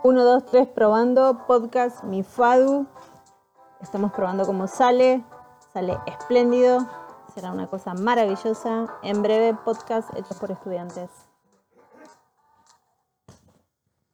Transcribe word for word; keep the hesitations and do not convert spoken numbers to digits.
Uno, dos, tres, probando. Podcast Mi Fadu. Estamos probando cómo sale. Sale espléndido. Será una cosa maravillosa. En breve, podcast hechos por estudiantes.